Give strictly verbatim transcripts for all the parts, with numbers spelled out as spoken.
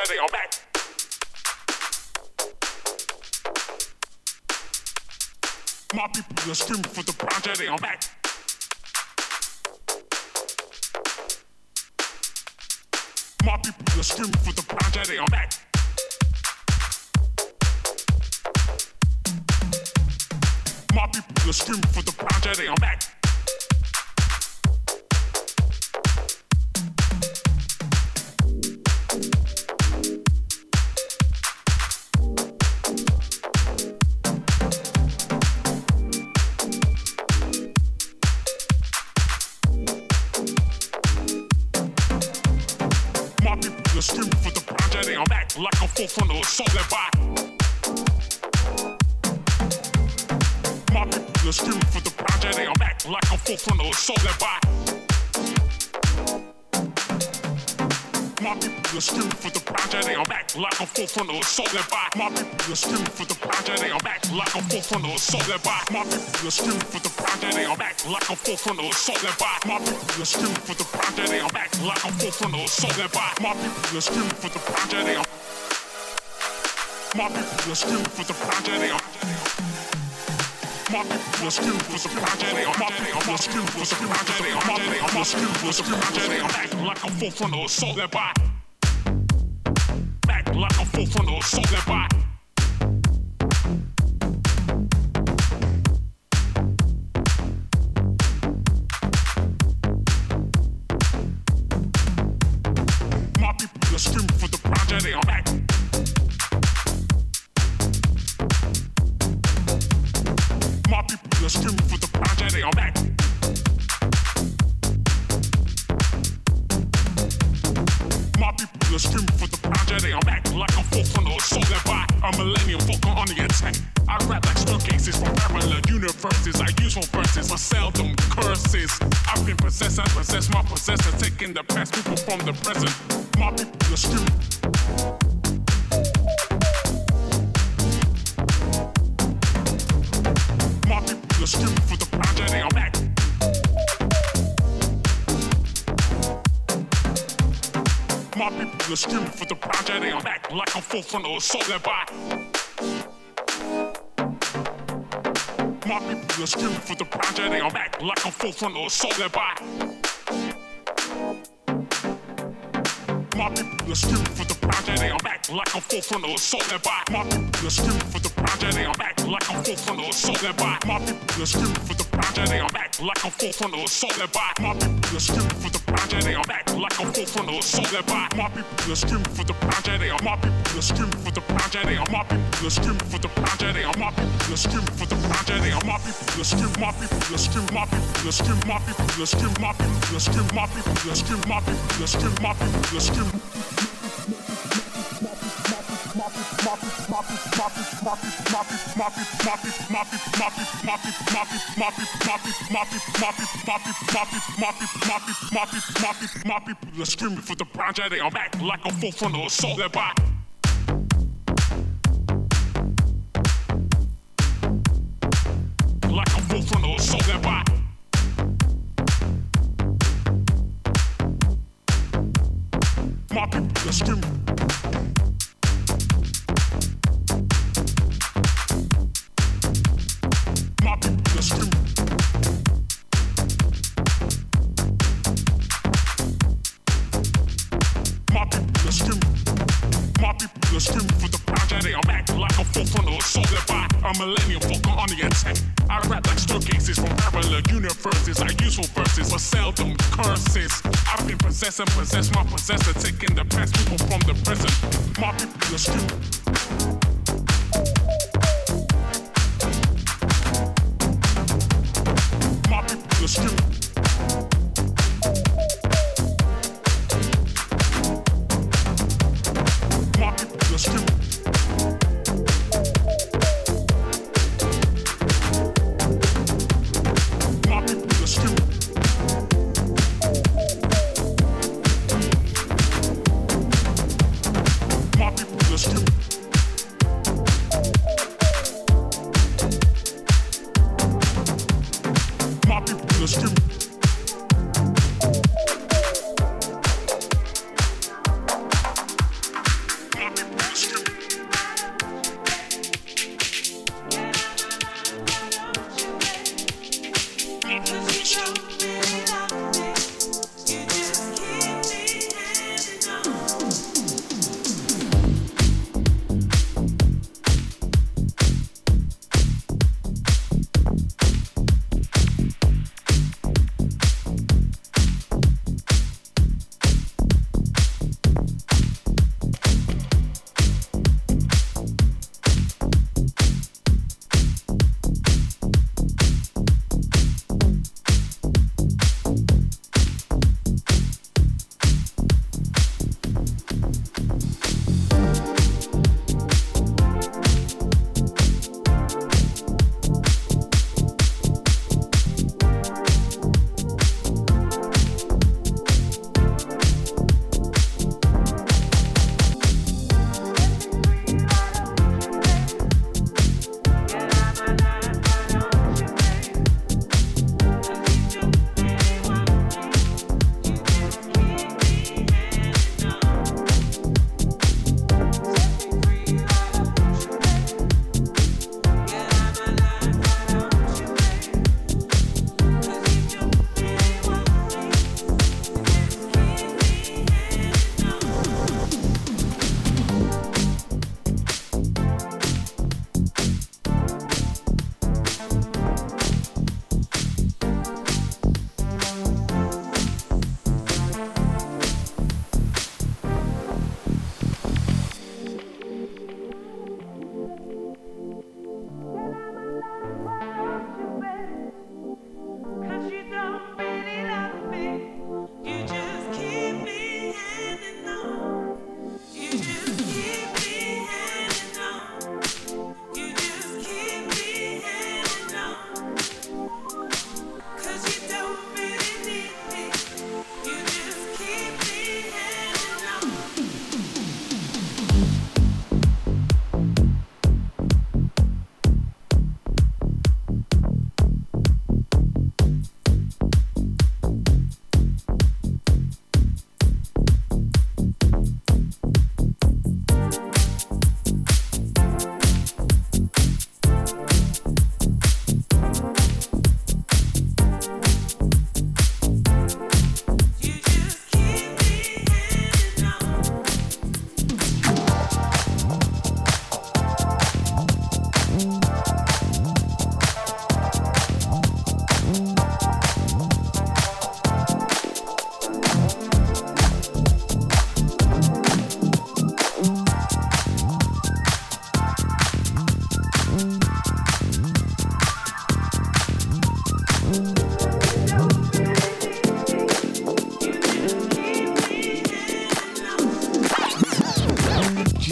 tragedy, I'm back. My people are screaming for the tragedy, I'm back. My people are screaming for the tragedy, I'm back. My people are screaming for the tragedy, I'm back. Screaming for the tragedy, I'm back like a full frontal assault that by. My people are screaming for the tragedy, I'm back like a full frontal assault that by. My people are screaming for the tragedy, I'm back like a full frontal assault that by. My people are screaming for the tragedy, I'm back like a full frontal assault that by. My people are screaming for the tragedy, I'm back like a full frontal assault that by. My people are screaming for the tragedy, I'm back like a full frontal assault that by. My people are screaming for the tragedy, I'm My people are screaming for the tragedy, I'm My people are screaming for the tragedy, I'm My people are screaming for the tragedy, I'm My people are screaming for the tragedy, I'm back like a full frontal assault that by. Back like a full frontal assault that by. My people are screaming for the tragedy, I'm back. My people are screaming for the tragedy, I'm back. My people are screaming for the tragedy, I'm back like a full frontal assault that by. A millennium Falcon on the attack. I rap like staircases from parallel universes. I use for verses, but seldom curses. I've been possessed, I possess my possessor, taking the past people from the present. My people are screaming. My people are screaming for the tragedy, I'm back. My people are screaming for the tragedy, I'm back like a full frontal assault that by. My people are screaming for the tragedy, I'm back like a full frontal assault that by. My people are screaming for the tragedy, I'm back like a full frontal assault that by. My people are screaming for the tragedy, I'm back like a full frontal assault that by. My people are screaming for the tragedy, I'm back like a full frontal assault that by. My people are screaming for the tragedy, I'm back like a full frontal assault that by. My people are screaming for the tragedy, my people are screaming for the tragedy, my people are screaming for the tragedy, my people are screaming for the tragedy, my people are screaming, my people are screaming, my people are screaming, my people are screaming, my people are screaming, my people are screaming, my people are screaming, my people are screaming. My people are screaming for the tragedy, I'm back like a full frontal assault that by. Like a full frontal assault that by. My people are screaming. My people are screaming. My people are screaming. My people are screaming for the tragedy, I'm back like a full frontal assault that by. A millennium Falcon on the attack. I rap like staircases from parallel universes. I use for verses, but seldom curses. I've been possessed and possess my possessor, taking the past people from the present. My people are screaming. My people are screaming. My people are screaming. My people are screaming. My people are screaming.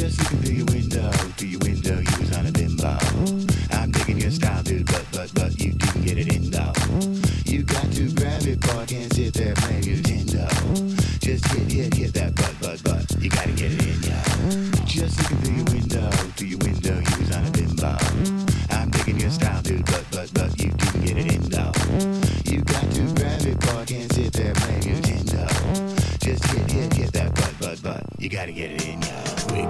Just looking through your window, through your window, you was on a bimbo. I'm digging your style, dude, but, but, but you didn't get it in though. You got to grab it, boy, can't sit there playing your Nintendo. Just hit, hit, hit that butt, butt, butt, you gotta get it in, yo. Just looking through your window, through your window, you was on a bimbo. I'm digging your style, dude, but, but, but you didn't get it in though. You got to grab it, boy, can't sit there playing your Nintendo. Just hit, hit, hit that butt, butt, butt, you gotta get it in, yo. Quick.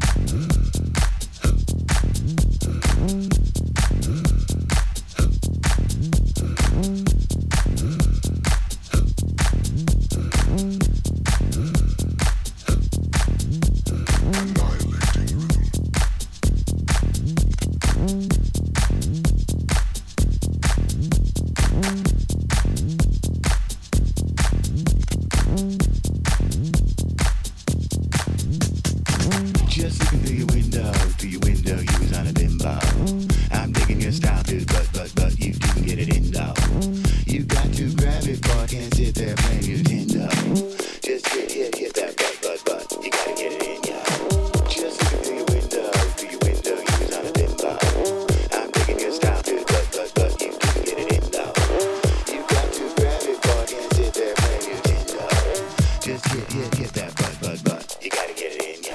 Just looking through your window, through your window, you was on a bimbo. I'm digging your style, dude, but, but, but you didn't get it in though. You got to grab it, boy, can't sit there playing your Nintendo. Just hit, hit, hit that butt, butt, butt, you gotta get it in, yo. Just looking through your window, through your window, you was on a bimbo. I'm digging your style, dude, but, but, but you didn't get it in though. You got to grab it, boy, can't sit there playing your Nintendo. Just hit, hit, hit that butt, butt, butt, you gotta get it in, yo.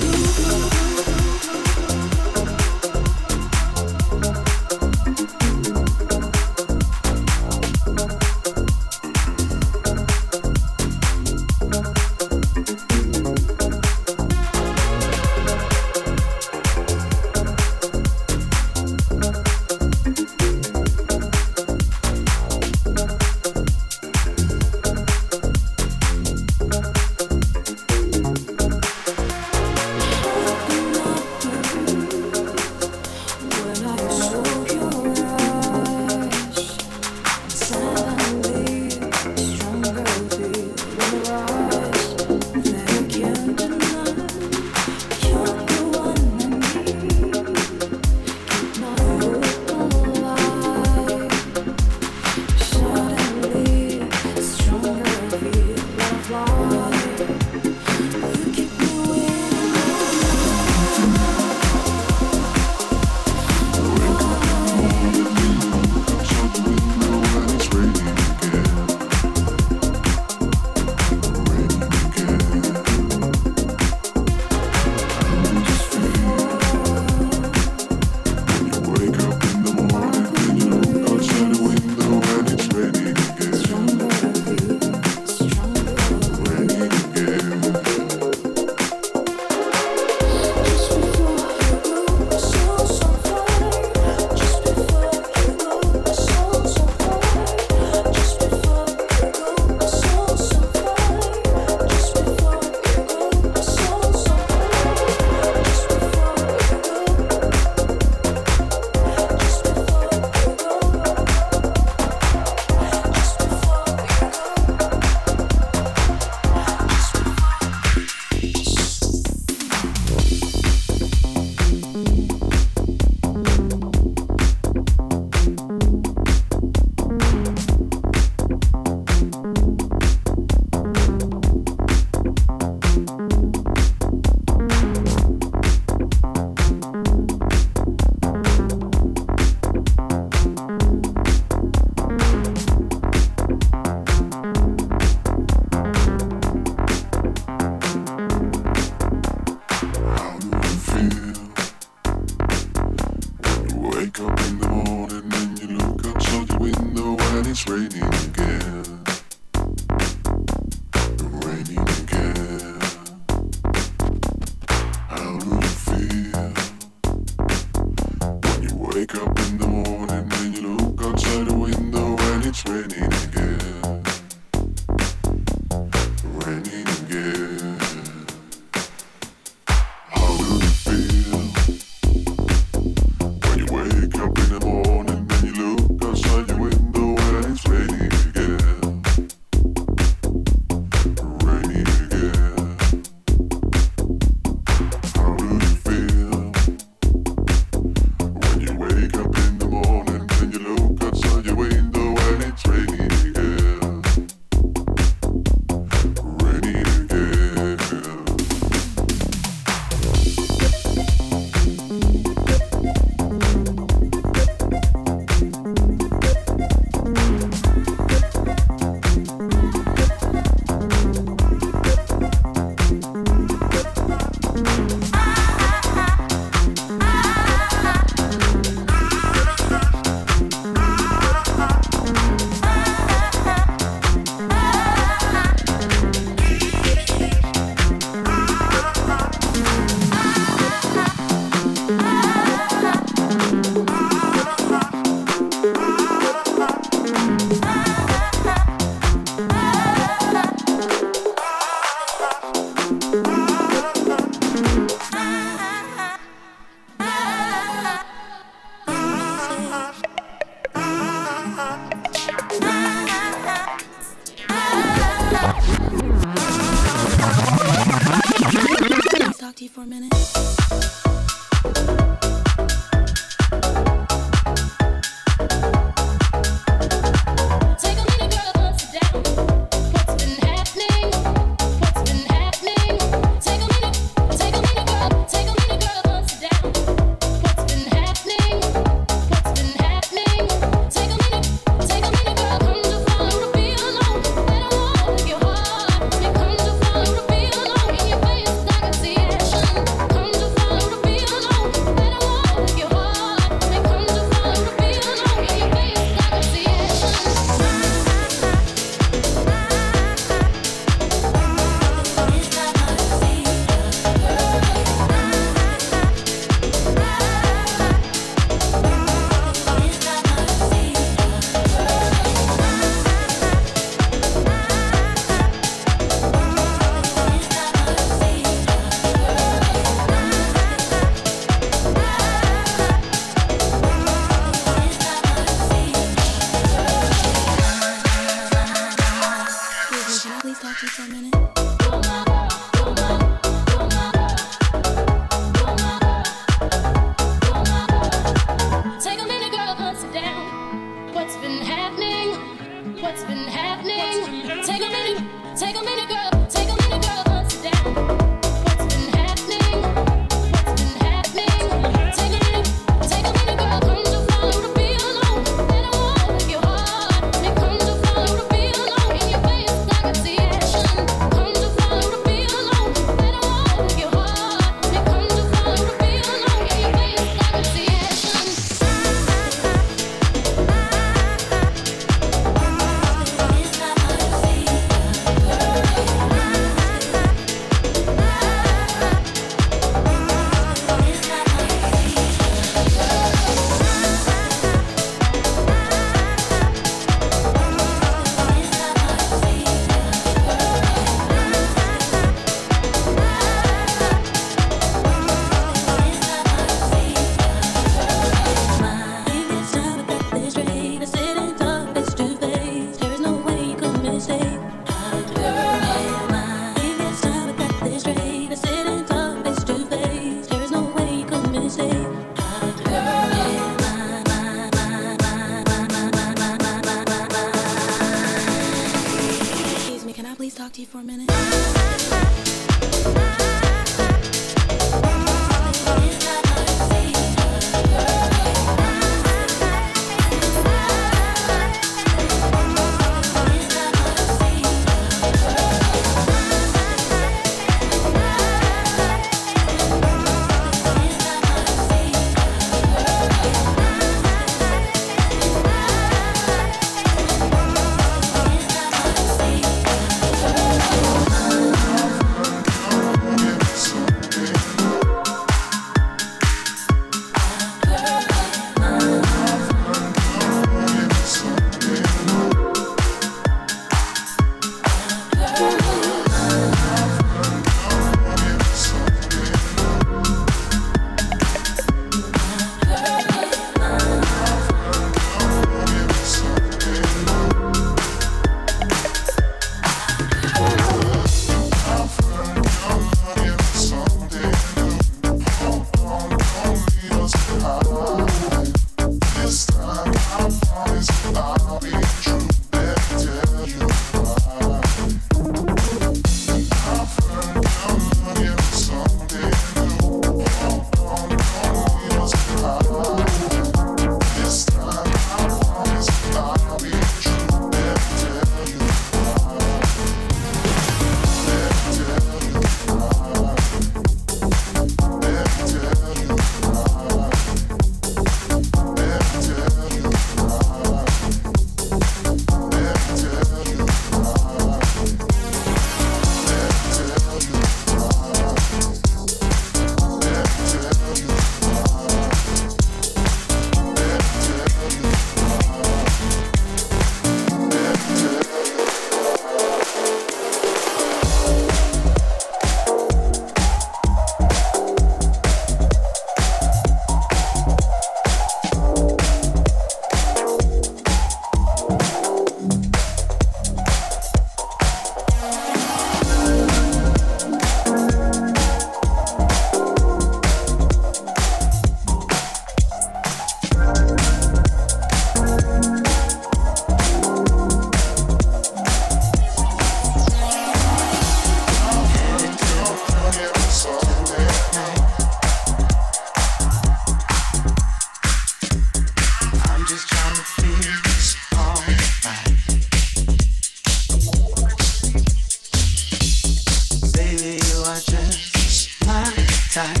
tight.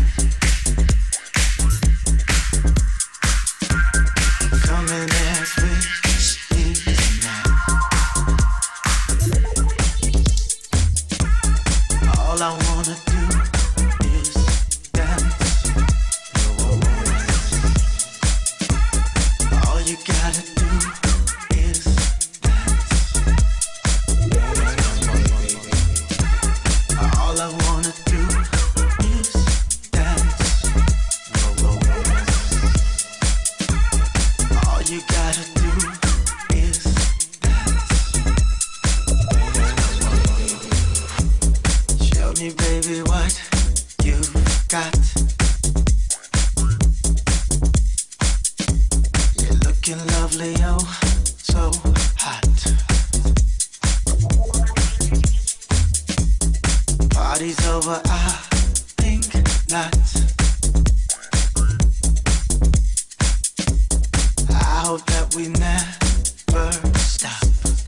Come and act with me tonight. All I wanna do is dance. All you gotta do is dance. All I wanna do is dance. All you gotta do is dance. Show me, baby, what you've got. You're looking lovely, oh, so hot. Party's over, I think not. I hope that we never stop.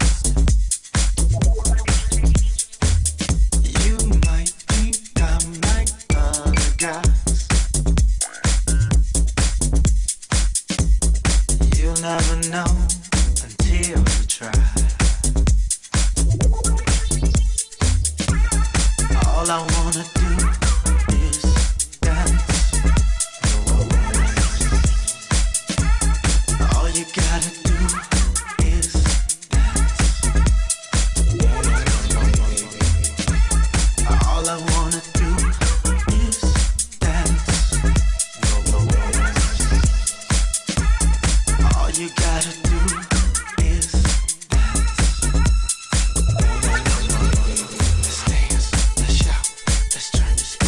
You might think I'm like other guys. You'll never know until you try. All I wanna do is dance. All you gotta do is dance. All I wanna do is dance. All you gotta do is dance. Let's dance, let's shout, let's turn this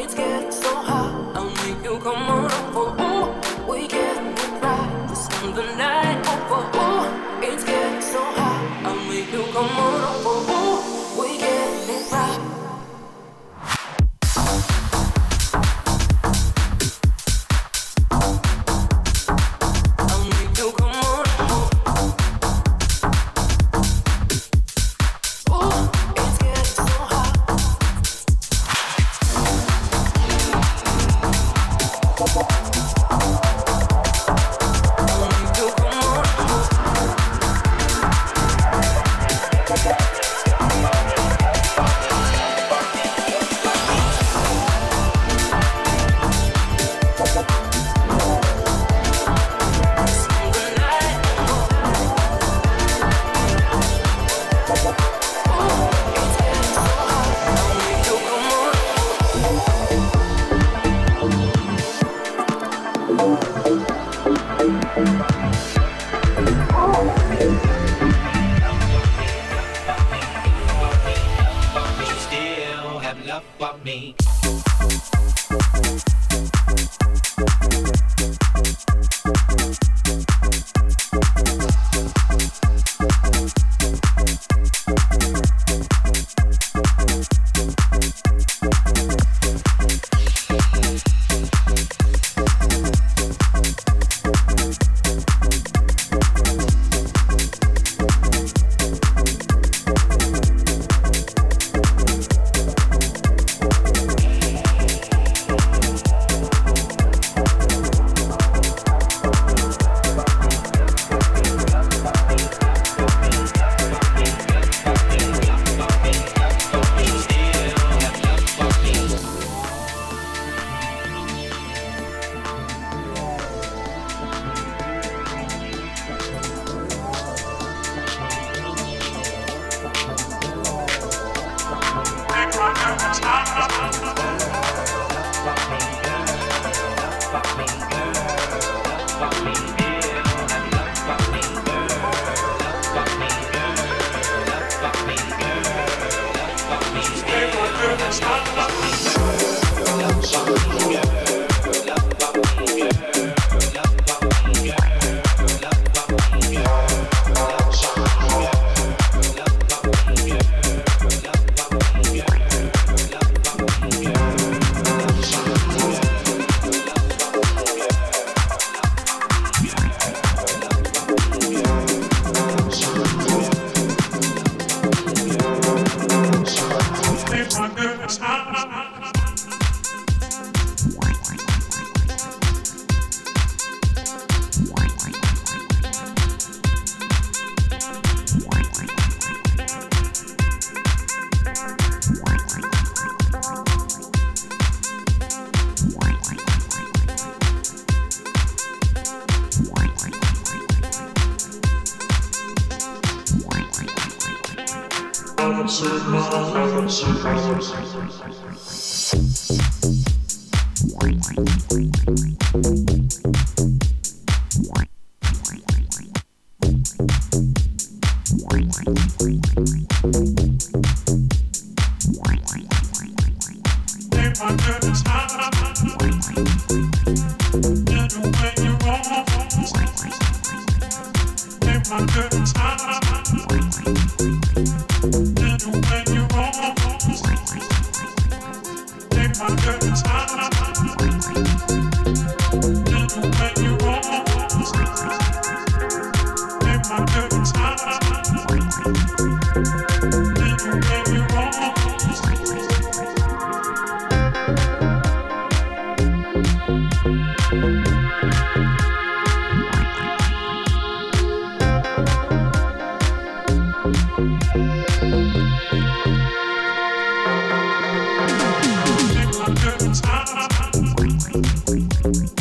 Take my good time.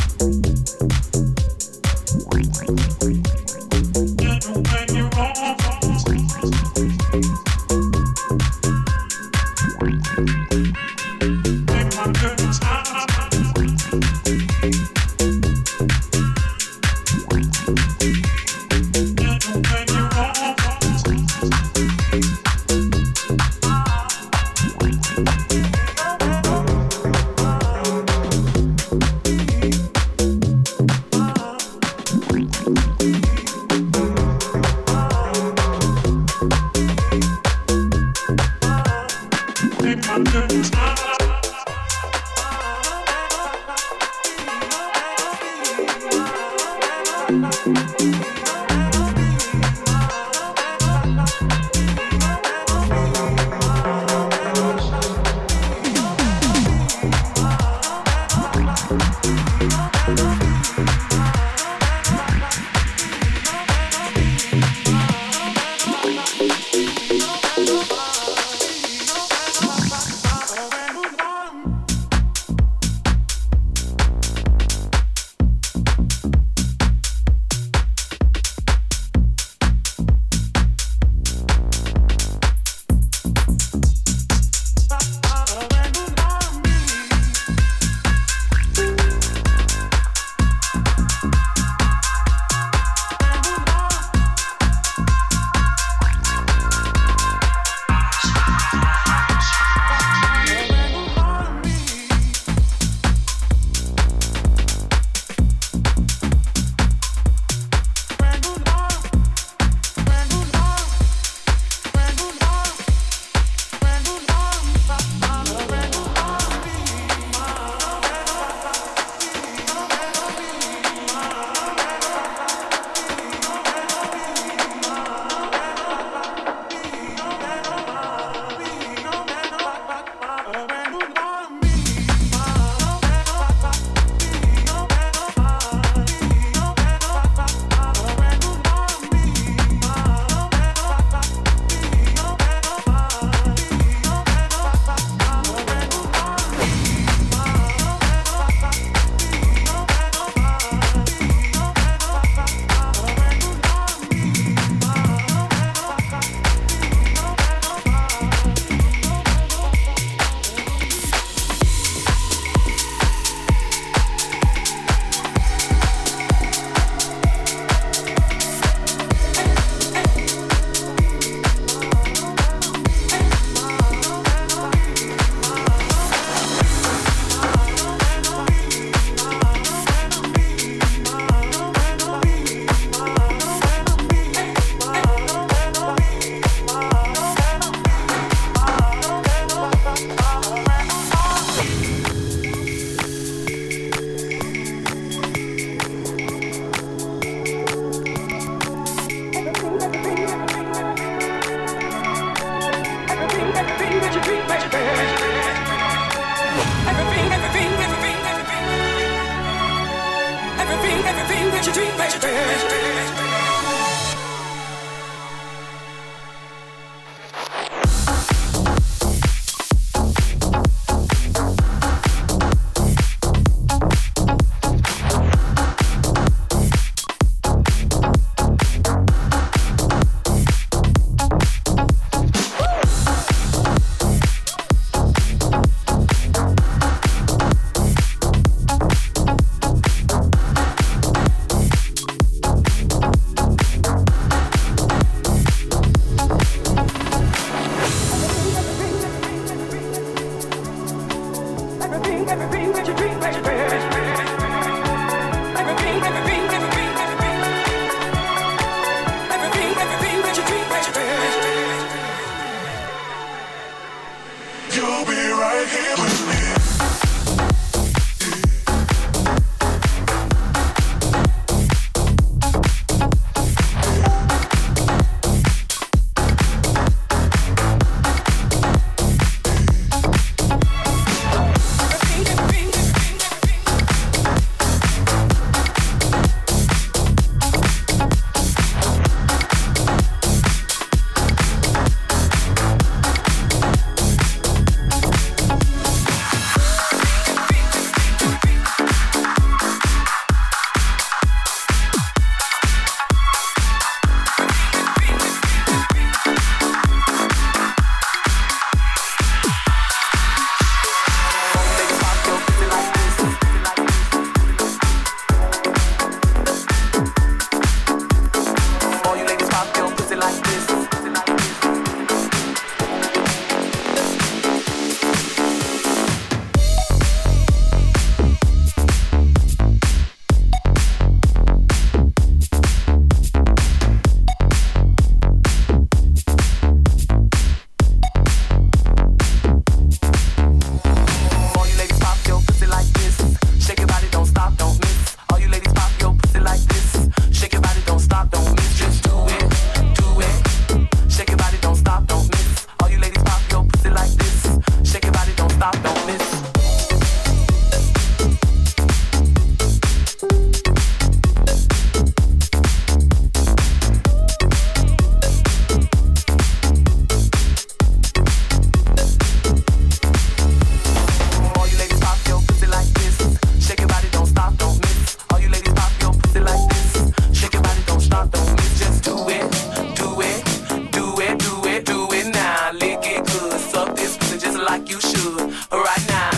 like you should right now.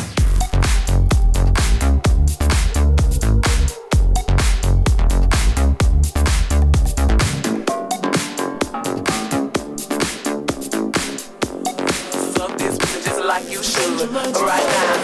Fuck this just like you should right now.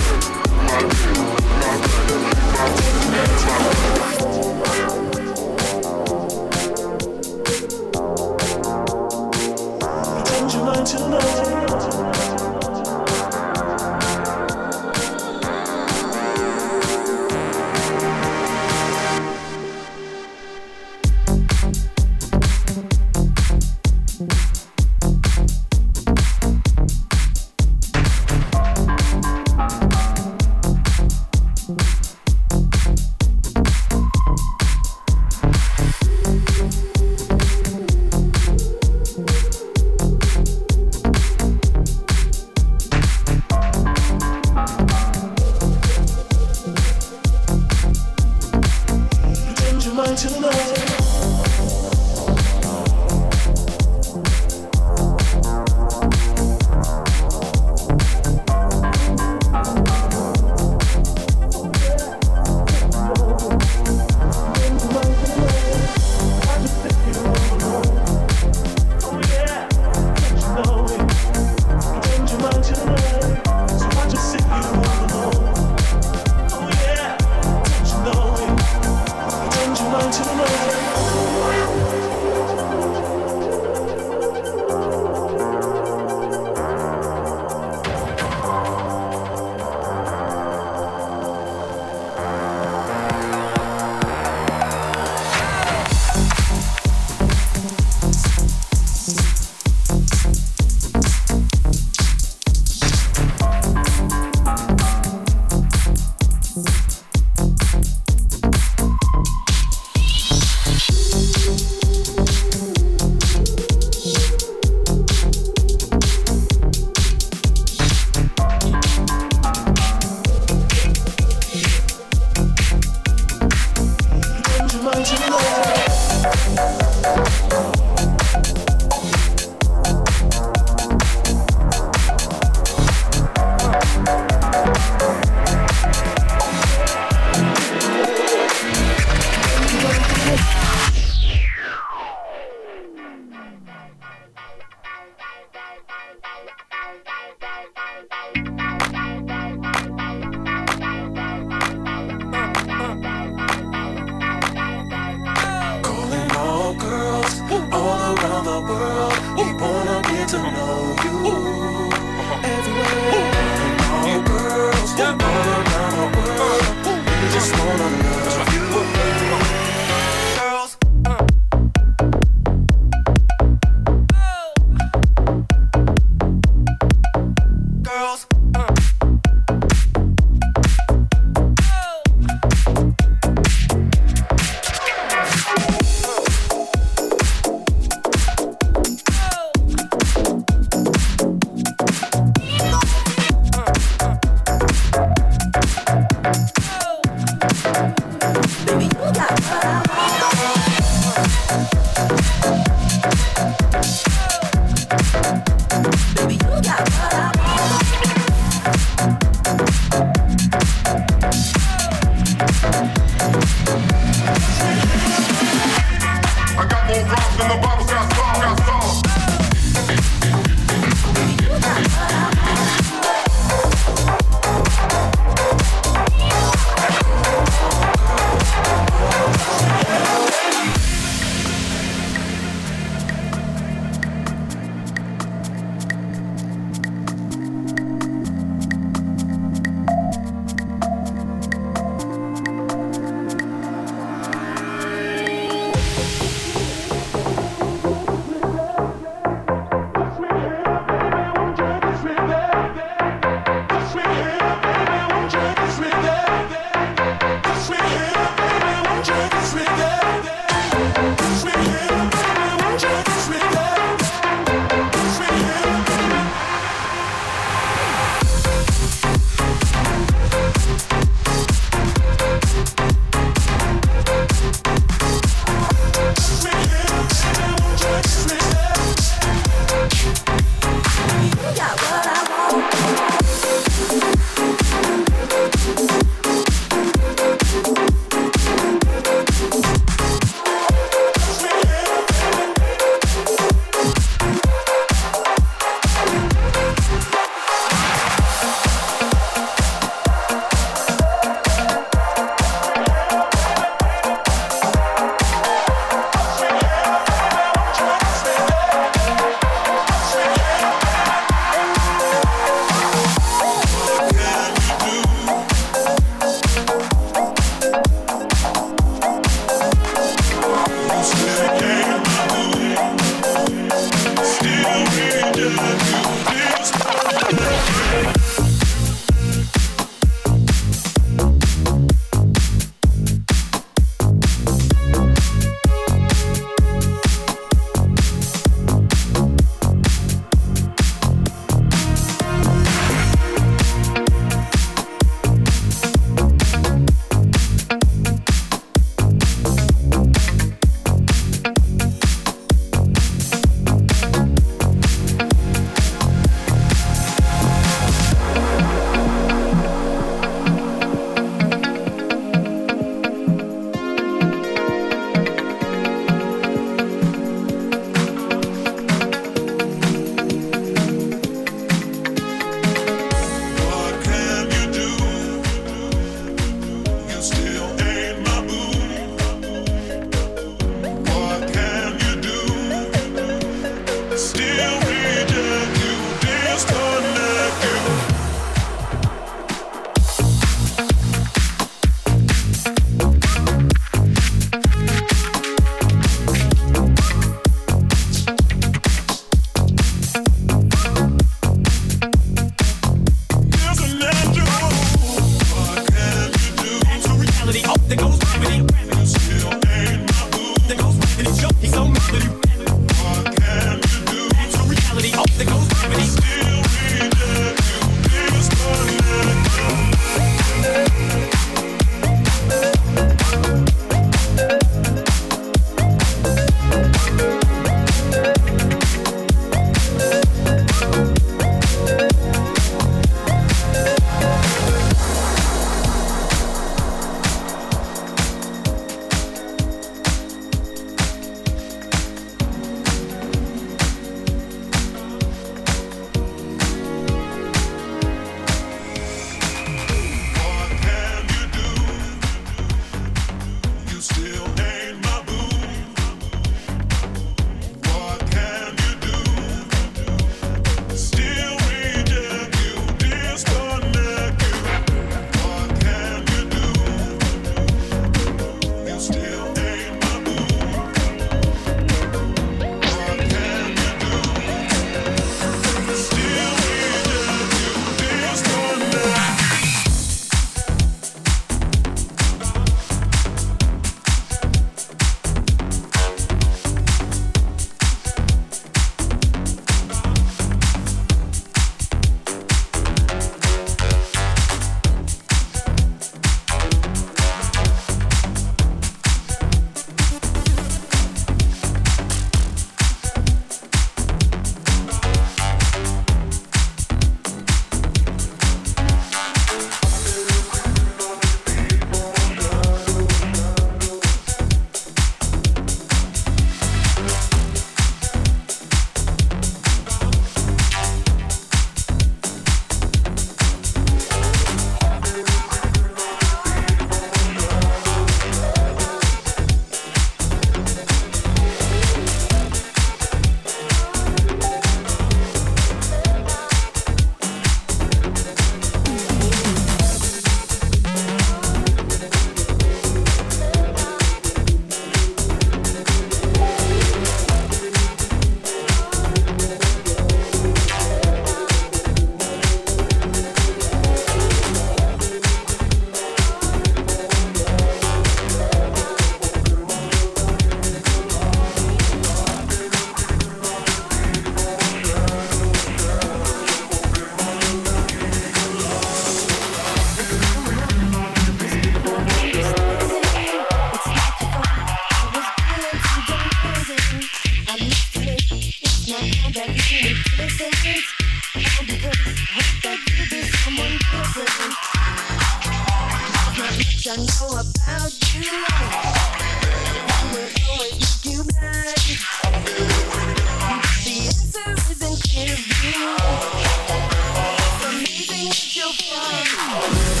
I know about you. I will always make you blind. The answer is in clear view. It's amazing what you'll find.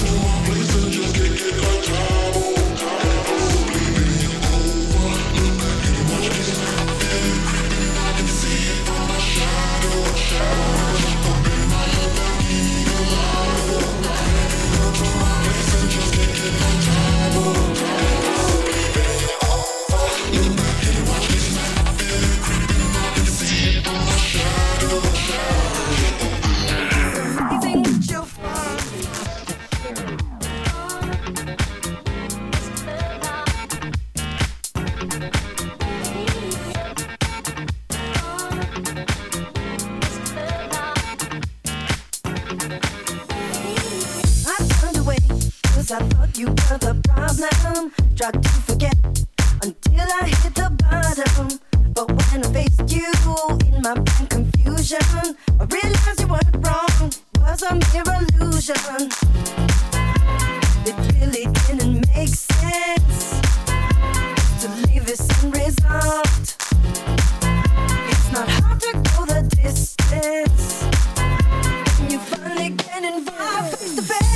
I thought you were the problem. Tried to forget until I hit the bottom. But when I faced you in my blind confusion, I realized you weren't wrong. It was a mere illusion. It really didn't make sense to leave this unresolved. It's not hard to go the distance when you finally get involved face to face.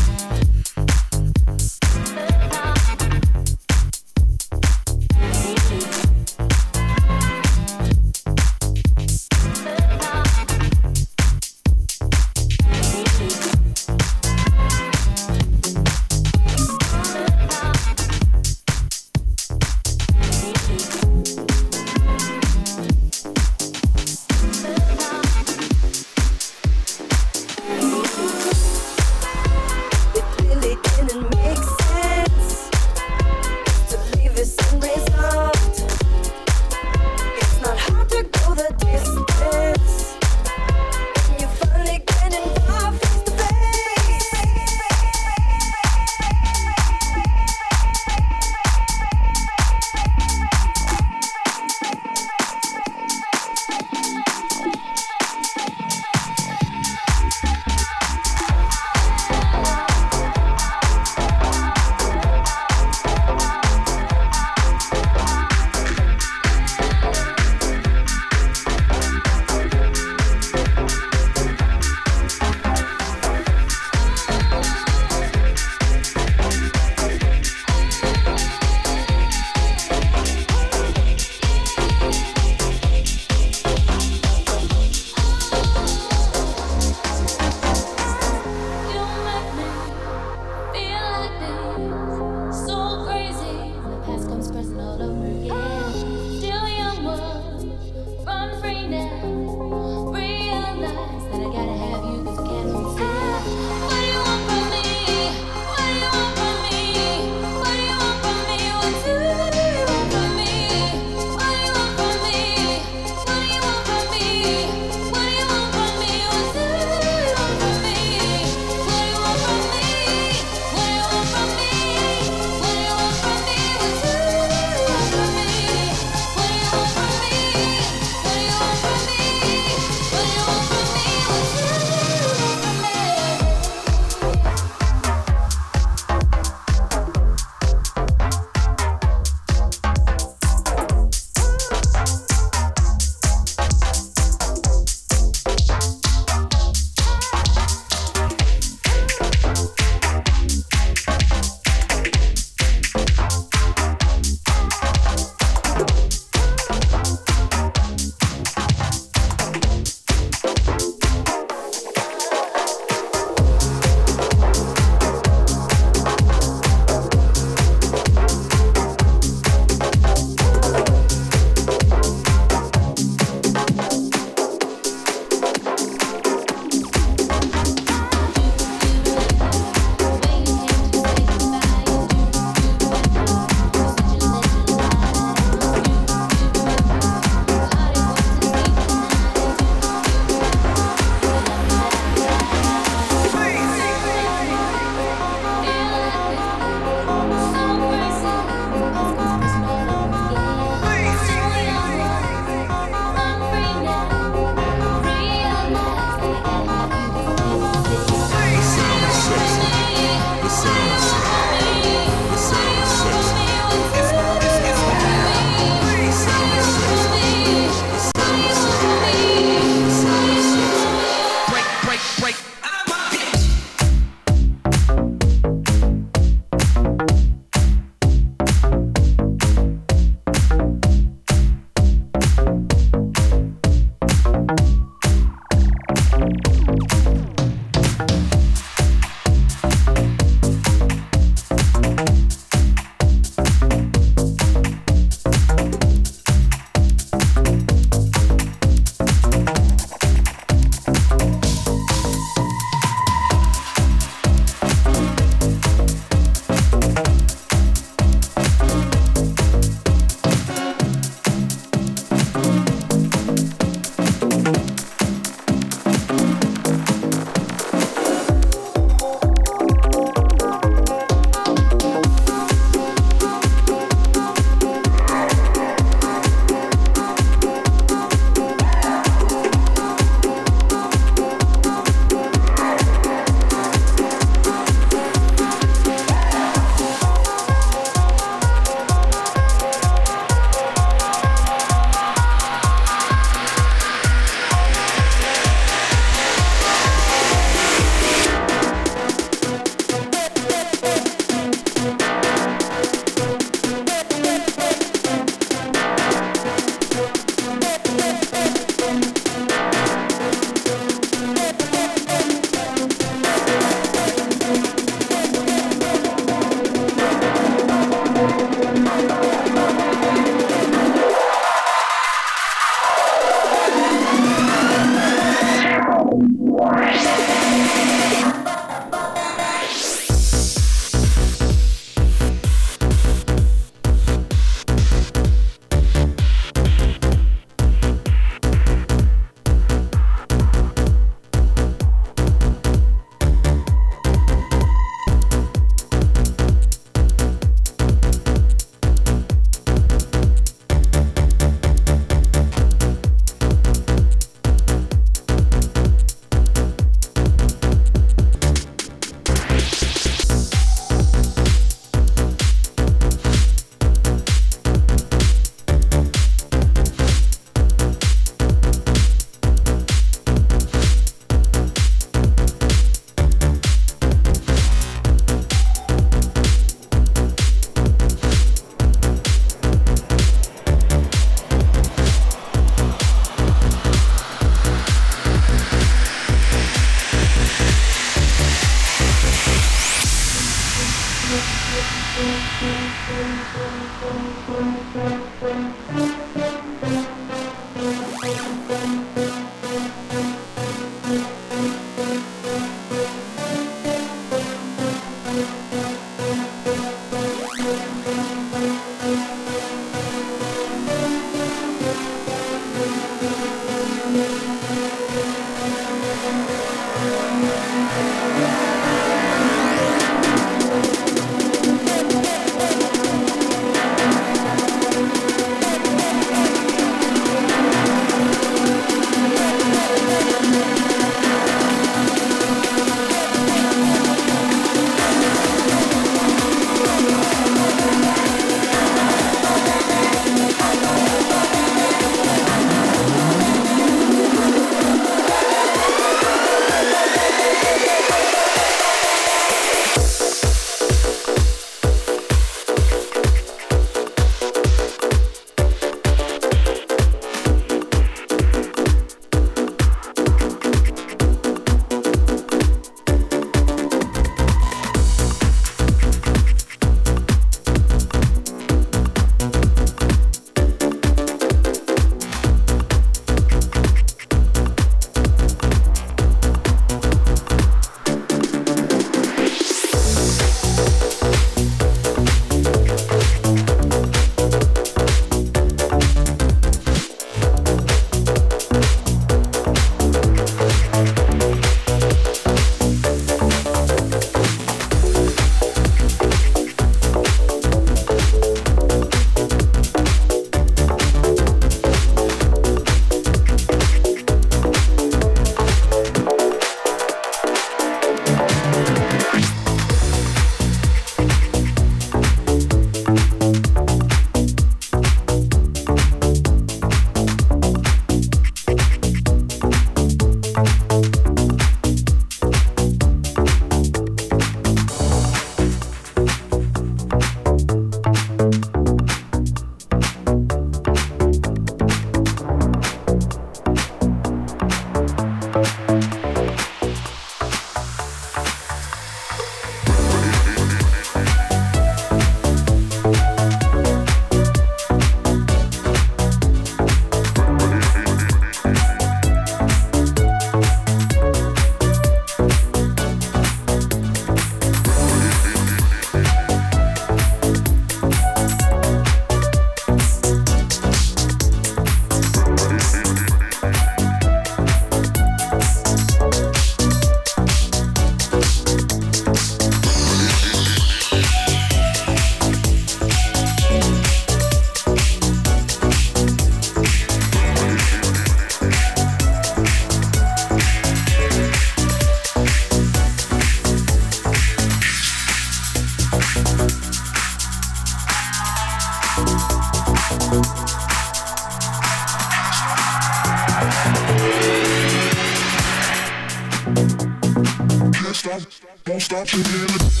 Don't stop till the end of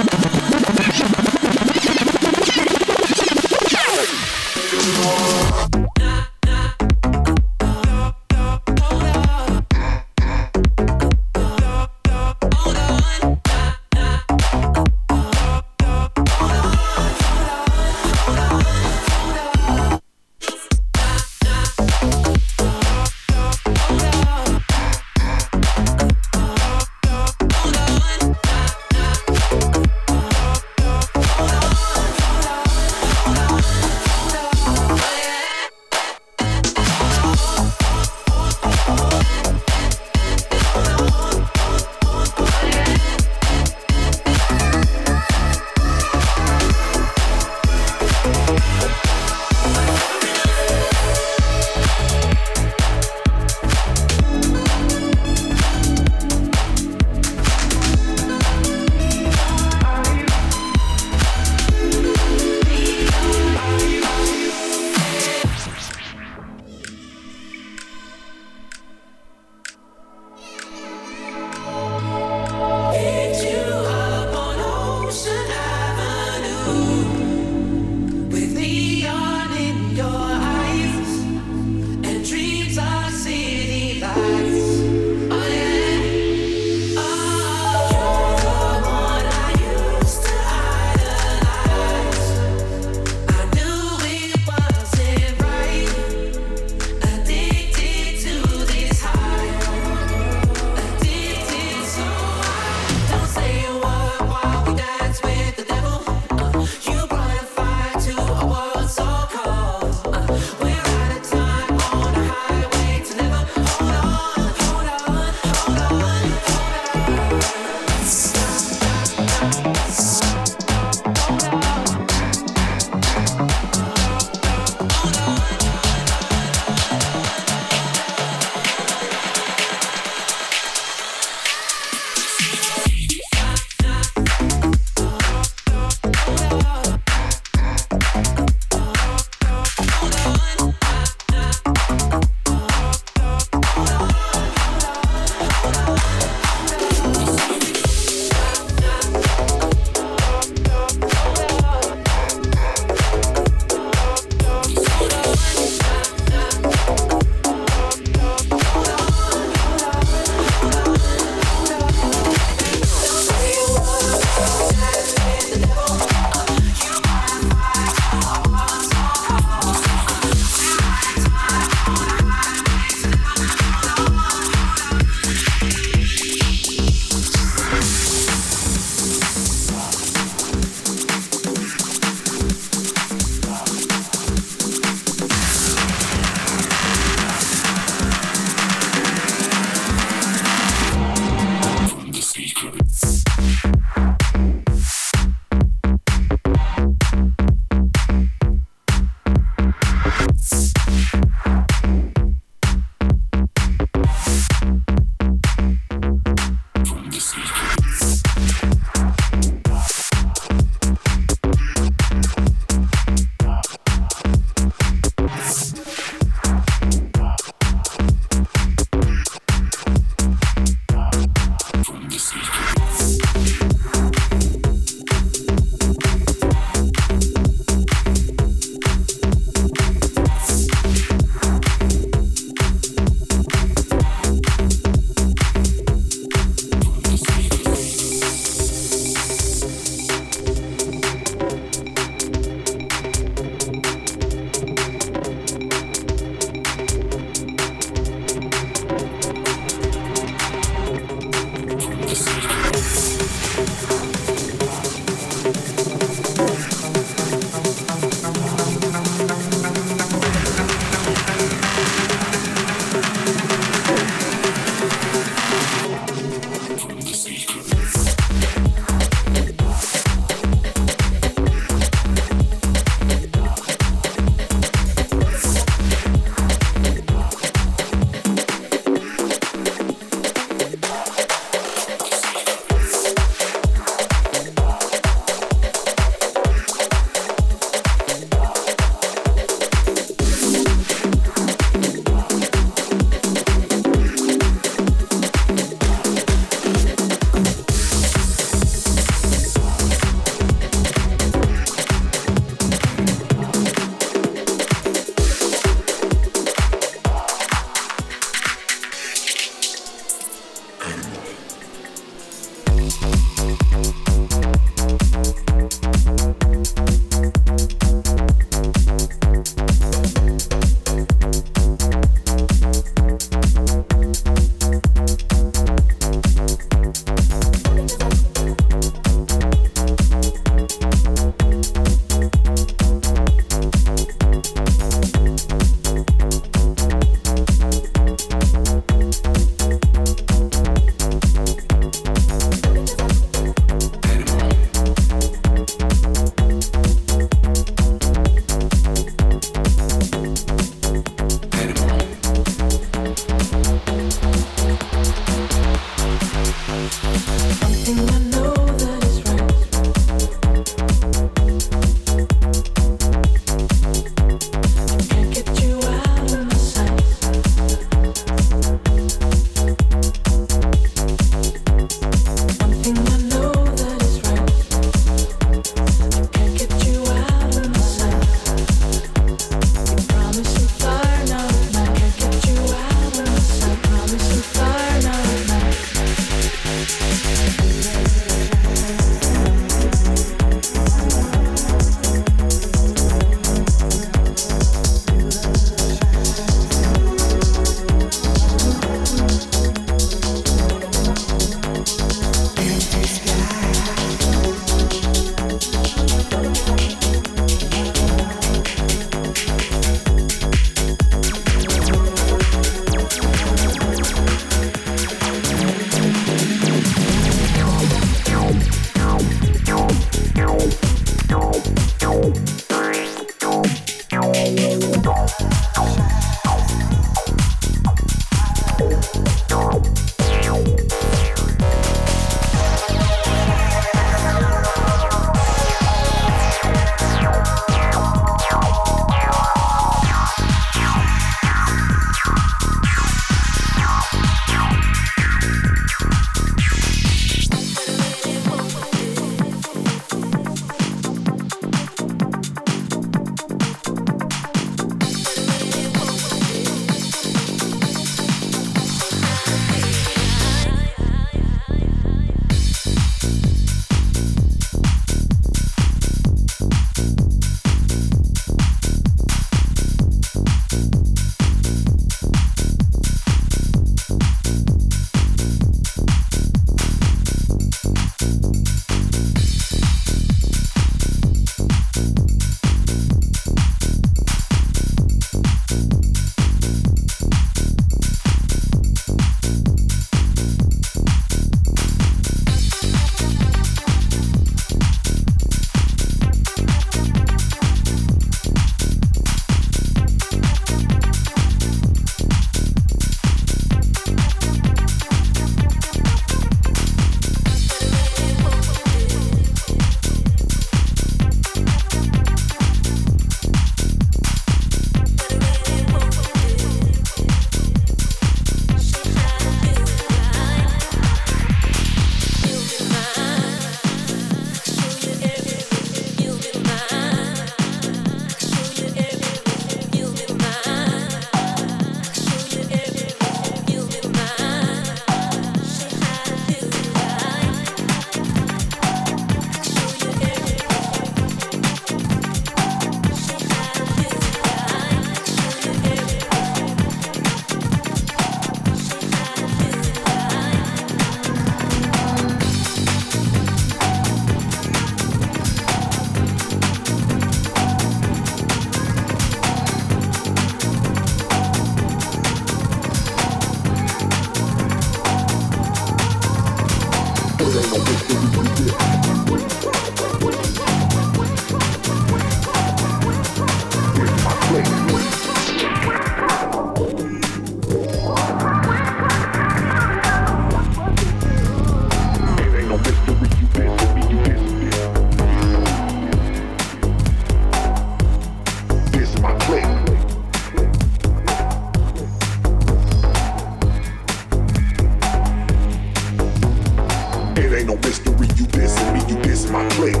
you dissing my clique.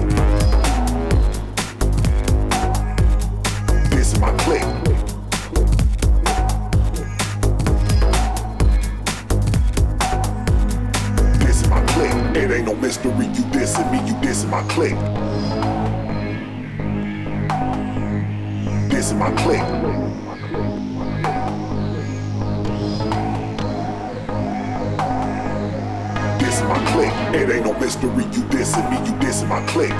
Dissing my clique. Dissing my clique. It ain't no mystery, you dissing me, you dissing my clique. Dissing my clique. My clique. It ain't no mystery, you dissing me, you dissing my clique.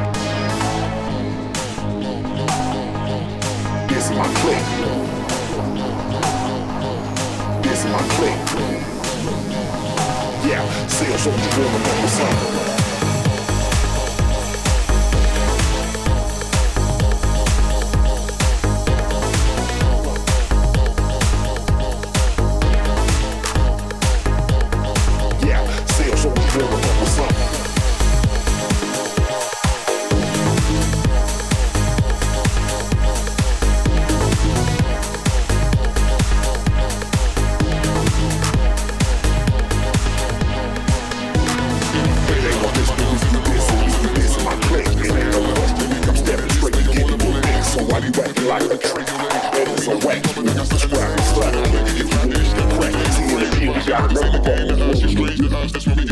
Dissing my clique. Dissing my clique. Yeah, sales on the woman on the sun. That's what we